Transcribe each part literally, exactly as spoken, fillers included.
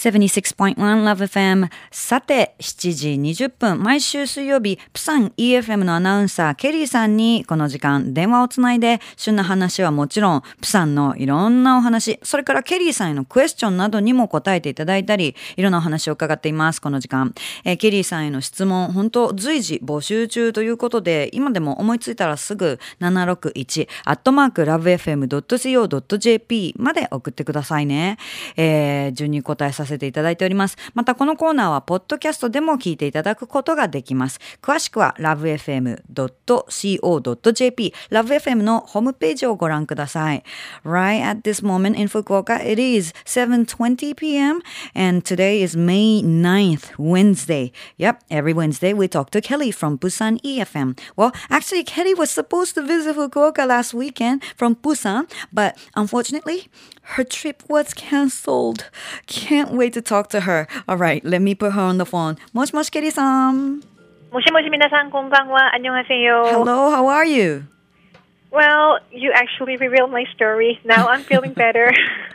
ななじゅうろくてんいち Love エフエム。さて、しちじにじゅっぷん、毎週水曜日、プサン イーエフエム のアナウンサー、ケリーさんにこの時間電話をつないで、旬な話はもちろん、プサンのいろんなお話、それからケリーさんへのクエスチョンなどにも答えていただいたり、いろんなお話を伺っています、この時間。えー、ケリーさんへの質問、本当随時募集中ということで、今でも思いついたらすぐななろくいちアットマークラブエフエムドットシーオードットジェーピー まで送ってくださいね。えー、順に答えさせていただいております。またこのコーナーはポッドキャストでも聞いていただくことができます。詳しくは ラブエフエムドットシーオードットジェーピー ラブエフエム のホームページをご覧ください。Right at this moment in Fukuoka, it is seven twenty p.m. and today is May ninth, Wednesday. Yep, every Wednesday we talk to Kelly from Busan イーエフエム. Well, actually Kelly was supposed to visit Fukuoka last weekend from Busan, but unfortunately, her trip was canceled. Can't wait to talk to her. All right, let me put her on the phone. もしもし、ケリーさん。 もしもし、皆さん、こんばんは。안녕하세요. Hello, how are you? Well, you actually revealed my story. Now I'm feeling better.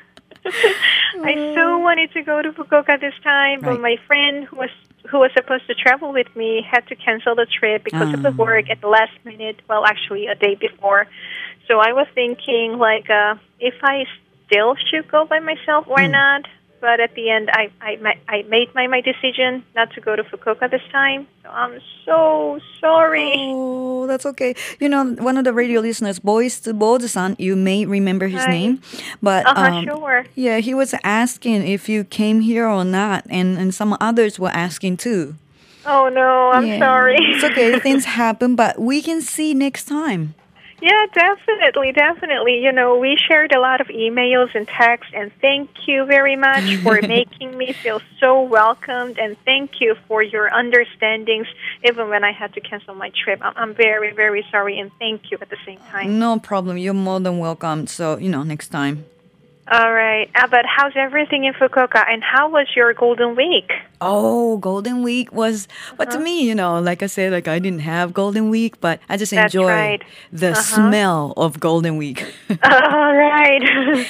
I so wanted to go to Fukuoka this time, but Right. my friend who was who was supposed to travel with me had to cancel the trip because of the work at the last minute. Well, actually, a day before. So I was thinking, like, uh, if I still should go by myself or Mm. not. But at the end, I I, I made my, my decision not to go to Fukuoka this time. So I'm so sorry. Oh, that's okay. You know, one of the radio listeners, Boys to Bold-san, you may remember his Hi. name. But Uh-huh, um, sure. yeah, he was asking if you came here or not. And, and some others were asking too. Oh, no, I'm Yeah. sorry. It's okay. Things happen, but we can see next time. Yeah, definitely, definitely. You know, we shared a lot of emails and texts, and thank you very much for making me feel so welcomed, and thank you for your understandings, even when I had to cancel my trip. I'm, I'm very, very sorry, and thank you at the same time. No problem. You're more than welcome. So, you know, next time. All right. Uh, but how's everything in Fukuoka, and how was your Golden Week? Oh, Golden Week was, but Uh-huh. to me, you know, like I said, like I didn't have Golden Week, but I just That's enjoy right. the Uh-huh. smell of Golden Week. All right.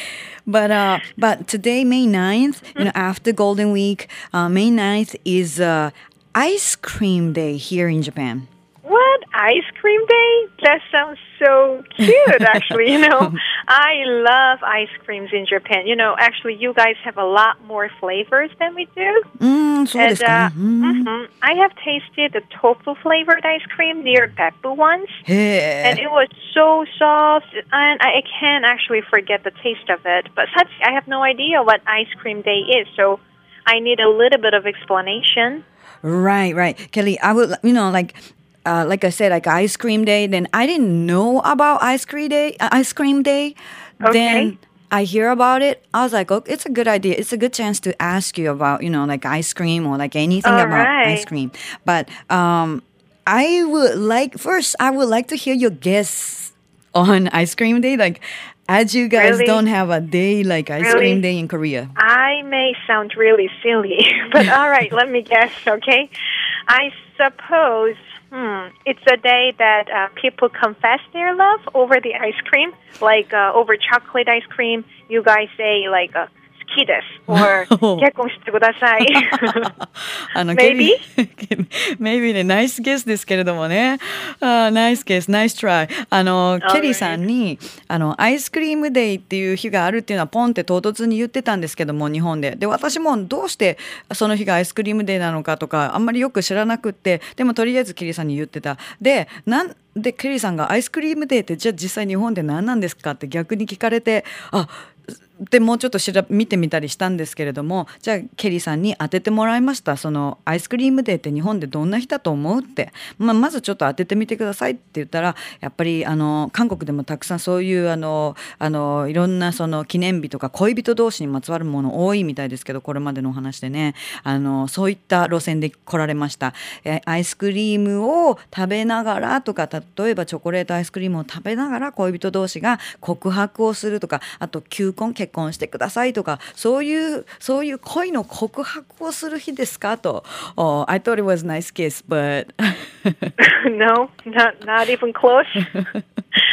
But uh, but today, May ninth, you know, after Golden Week, uh, May ninth is uh, Ice Cream Day here in Japan. What? Ice cream day? That sounds so cute, actually. You know, I love ice creams in Japan. You know, actually, you guys have a lot more flavors than we do. うーん、そうですかね。 And, uh, mhm. I have tasted the tofu flavored ice cream near Beppu once. へ And え。 it was so soft, and I can't actually forget the taste of it. But such, I have no idea what ice cream day is, so I need a little bit of explanation. Right, right. Kelly, I would, you know, like, uh, like I said, like ice cream day. Then I didn't know about ice cream day. Uh, ice cream day. Okay. Then I hear about it. I was like, oh, it's a good idea. It's a good chance to ask you about, you know, like ice cream or like anything All about right. ice cream. But um, I would like first. I would like to hear your guess on ice cream day. Like, as you guys Really? don't have a day like ice Really? cream day in Korea. I may sound really silly, but all right, let me guess, okay? I suppose hmm, it's a day that uh, people confess their love over the ice cream, like uh, over chocolate ice cream. You guys say like uh, "好きです" or 結婚してください. あの Maybe? ケリー Maybe ね、ナイスゲスですけれどもね。あナイスゲス、ナイストライ。あの、ケリーさんに、あの、アイスクリームデイっていう日があるっていうのはポンって唐突に言ってたんですけども、日本で。で、私もどうしてその日がアイスクリームデイなのかとか、あんまりよく知らなくって、でもとりあえずケリーさんに言ってた。で、なんでケリーさんがアイスクリームデイってじゃあ実際日本で何なんですかって逆に聞かれて、あ、でもうちょっと調べ見てみたりしたんですけれども、じゃあケリーさんに当ててもらいました。そのアイスクリームデーって日本でどんな日だと思うって、まあ、まずちょっと当ててみてくださいって言ったら、やっぱりあの韓国でもたくさんそういうあのあのいろんなその記念日とか恋人同士にまつわるもの多いみたいですけど、これまでのお話でね、あのそういった路線で来られました。えアイスクリームを食べながらとか、例えばチョコレートアイスクリームを食べながら恋人同士が告白をするとか、あと求婚結婚してくださいとか、そういうそういう恋の告白をする日ですかと。Oh, I thought it was a nice kiss, but No, not not even close.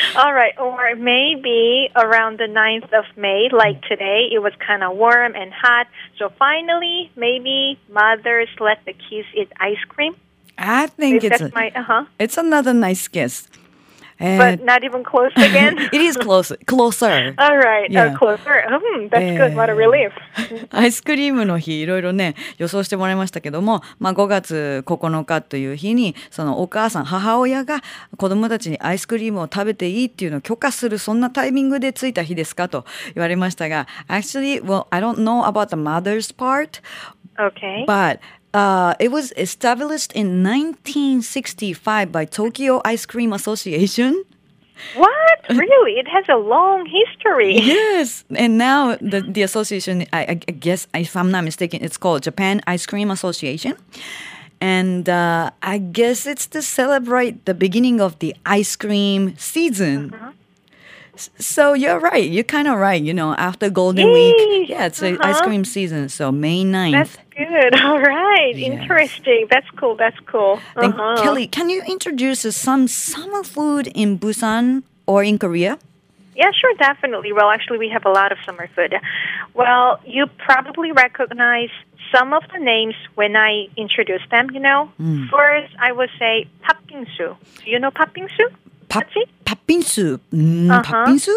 All right, or maybe around the ninth of May, like today, it was kind of warm and hot. So finally, maybe mothers let the kids eat ice cream. I think Maybe it's that's a, my, uh-huh. it's another nice guess. But not even close again? It is close, closer. All right, Yeah. uh, closer. Hmm, that's good. What a relief. アイスクリームの日いろいろね予想してもらいましたけども、まあ、ごがつここのかという日にそのお母さん母親が子どもたちにアイスクリームを食べていいっていうのを許可するそんなタイミングでついた日ですかと言われましたが Actually, well, I don't know about the mother's part, Okay. but Uh, it was established in nineteen sixty-five by Tokyo Ice Cream Association. What? Really? It has a long history. Yes, and now the the association, I, I guess, if I'm not mistaken, it's called Japan Ice Cream Association, and uh, I guess it's to celebrate the beginning of the ice cream season. Uh-huh. So you're right. You're kind of right. You know, after Golden Yay! Week, yeah, it's uh-huh. ice Uh-huh. cream season. So May ninth. That's good. All right. Yes. Interesting. That's cool. That's cool. Then Uh-huh. Kelly, can you introduce us some summer food in Busan or in Korea? Yeah, sure, definitely. Well, actually, we have a lot of summer food. Well, you probably recognize some of the names when I introduce them, you know. Mm. First, I would say 팥빙수. Do you know 팥빙수? 밥, That's it? 팥빙수. 음, Uh-huh. 팥빙수?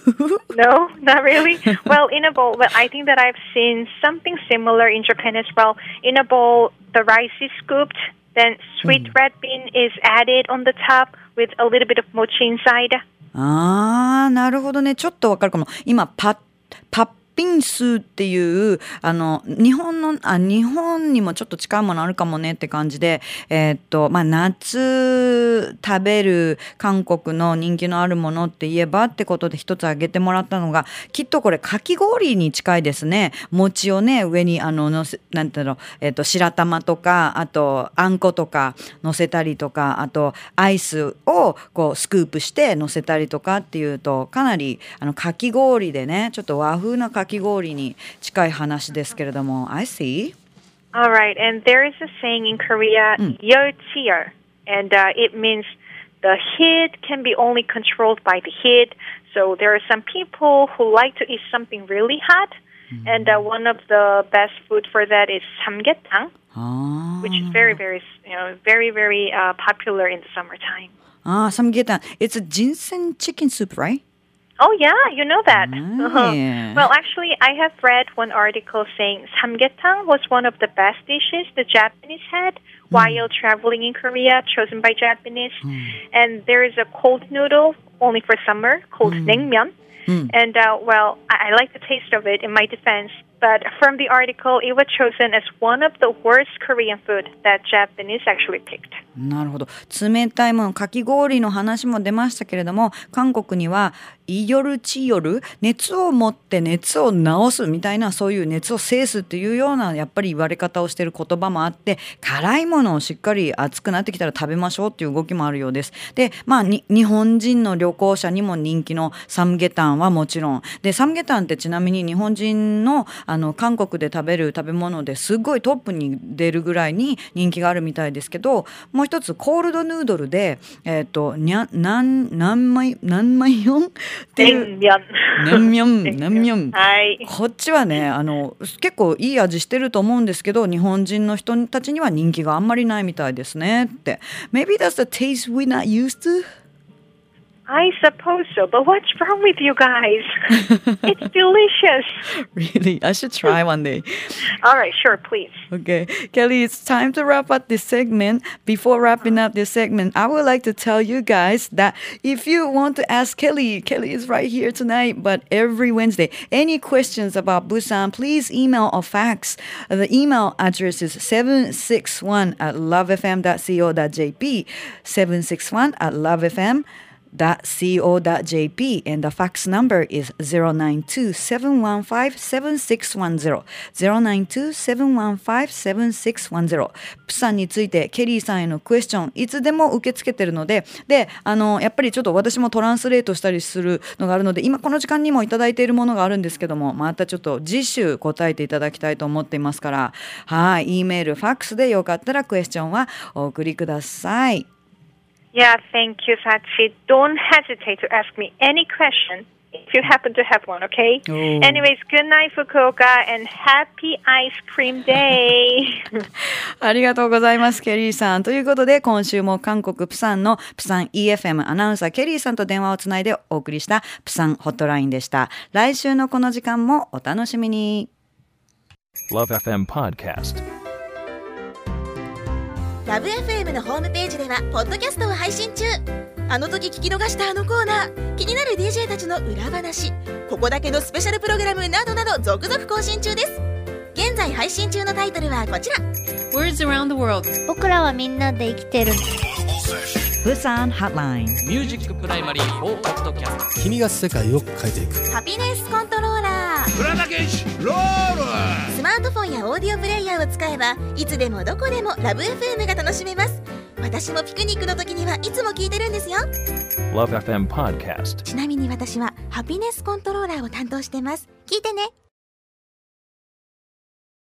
No, not really. Well, in a bowl, well, I think that I've seen something similar in Japan as well. In a bowl, the rice is scooped, then sweet Mm. red bean is added on the top with a little bit of mochi inside. あー、なるほどね。ちょっとわかるかも。今、パッ、パッピンスっていう、あの、日本の、あ、日本にもちょっと近いものあるかもねって感じで、えーっと、まあ、夏食べる韓国の人気のあるものって言えばってことで一つ挙げてもらったのが、きっとこれかき氷に近いですね。餅をね、上にあの、のせ、なんていうの、えーっと、白玉とか、あと、あんことか乗せたりとか、あと、アイスをこう、スクープして乗せたりとかっていうと、かなり、あの、かき氷でね、ちょっと和風なかき氷に近い話ですけれども、I see. All right, and there is a saying in Korea, Mm. 열치열, and uh, it means the heat can be only controlled by the heat. So there are some people who like to eat something really hot, mm. and uh, one of the best food for that is samgyetang, ah. which is very, very, you know, very, very uh, popular in the summertime. Ah, samgyetang. It's a ginseng chicken soup, right? Oh, yeah, you know that. Ah, Uh-huh. yeah. Well, actually, I have read one article saying samgyetang was one of the best dishes the Japanese had while traveling in Korea, chosen by Japanese. And there is a cold noodle only for summer called naengmyeon. Mm. And, uh, well, I-, I like the taste of it in my defense. But from the article, it was chosen as one of the worst Korean food that Japanese actually picked. なるほど。冷たいもの、かき氷の話も出ましたけれども、韓国にはイヨルチヨル、熱を持って熱を治すみたいな、そういう熱を制すっていうようなやっぱり言われ方をしている言葉もあって、辛いものをしっかり熱くなってきたら食べましょうっていう動きもあるようです。で、まあに日本人の旅行者にも人気のサムゲタンはもちろん。で、サムゲタンってちなみに日本人のあの韓国で食べる食べ物ですごいトップに出るぐらいに人気があるみたいですけど、もう一つコールドヌードルで、えっと、にゃ、なん、何枚、何枚よんっていう。 냉면. ナンミョン、ナンミョン。 はい。 こっちはね、あの、結構いい味してると思うんですけど、日本人の人たちには人気があんまりないみたいですねって。Maybe that's the taste we're not used to? I suppose so, but what's wrong with you guys? It's delicious. Really? I should try one day. All right, sure, please. Okay. Kelly, it's time to wrap up this segment. Before wrapping up this segment, I would like to tell you guys that if you want to ask Kelly, Kelly is right here tonight, but every Wednesday, any questions about Busan, please email or fax. The email address is seven six one at lovefm dot co dot jp, seven six one at lovefm dot co dot jp, and the fax number is zero nine two seven one five seven six one zero ゼロナインツー セブンワンファイブ セブンシックスワンゼロ。プサンについてケリーさんへのクエスチョンいつでも受け付けてるので、で、あのやっぱりちょっと私もトランスレートしたりするのがあるので、今この時間にもいただいているものがあるんですけども、またちょっと次週答えていただきたいと思っていますから、はい、Eメール、ファックスでよかったらクエスチョンはお送りください。 Yeah, thank you, Sachi. Don't hesitate to ask me any question if you happen to have one, okay? Oh. Anyways, good night, Fukuoka, and happy ice cream day. ありがとうございます、ケリーさん。ということで、今週も韓国プサンのプサン イーエフエム アナウンサーケリーさんと電話をつないでお送りしたプサンホットラインでした。来週のこの時間もお楽しみに。 ラブエフエム Podcast。 ラブ エフエム のホームページではポッドキャストを配信中。あの時聞き逃したあのコーナー、気になる ディージェー たちの裏話、ここだけのスペシャルプログラムなどなど続々更新中です。現在配信中のタイトルはこちら。 Words around the world。 僕らはみんなで生きてる。 プサンハットライン。 ミュージックプライマリーフォーポッドキャスト。 君が世界を変えていく。 ハピネスコントローラー。 浦田健一ロール。 スマートフォンやオーディオプレイヤーを使えばいつでもどこでもラブ エフエム が楽しめます。私もピクニックの時にはいつも聞いてるんですよ。 ラブエフエム Podcast。 ちなみに私はハピネスコントローラーを担当してます。聞いてね。